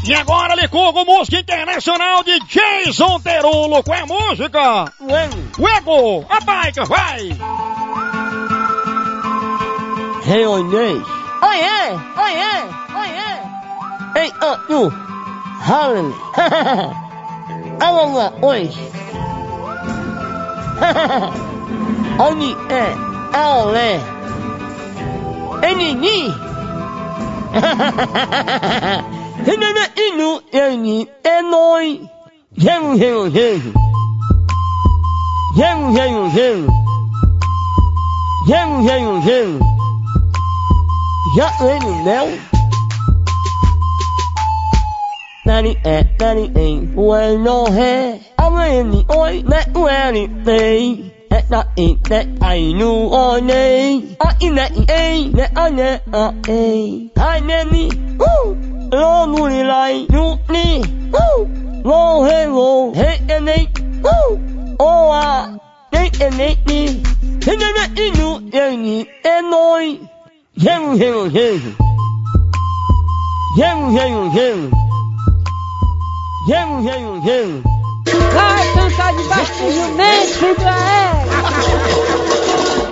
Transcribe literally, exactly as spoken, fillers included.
E agora ele curva música internacional de Jason Derulo. Qual é a música? Uego. Uego. A bike, vai. Hey, Oinês. Oiê, oiê, oiê. Hey, uh, you. Harlem. Alala, oi. Oni, é, ale. Enini. Henana inu, eni, enoi. Gemu, gemu, gemu. Gemu, gemu, gemu. Gemu, gemu, gemu. Já vem no mel. Nani é, nani em, ué no ré. Ameni oi, né ué nei. É na in, né ai nu oi nei. A in, né ei, né a né a ei. Ai neni, uh. Lo nu li lai, nu ni, uh. Lo he lo, he e nei, uh. O a, nei e nei ni. He ne ne inu, e ni, e noi. Gemu, gemu, gemu. Gemu, gemu, gemu. Gemu, gemu, gemu. Vai cantar debaixo do jumento, filho da égua.